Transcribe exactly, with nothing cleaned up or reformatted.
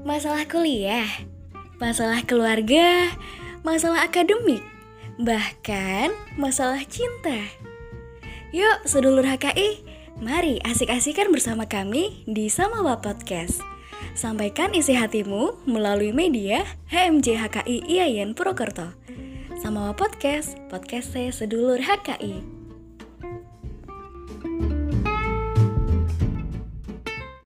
Masalah kuliah, masalah keluarga, masalah akademik, bahkan masalah cinta. Yuk sedulur H K I, mari asik-asikan bersama kami di Samawa Podcast. Sampaikan isi hatimu melalui media H M J H K I I A I N Purwokerto. Samawa Podcast, podcast saya sedulur H K I.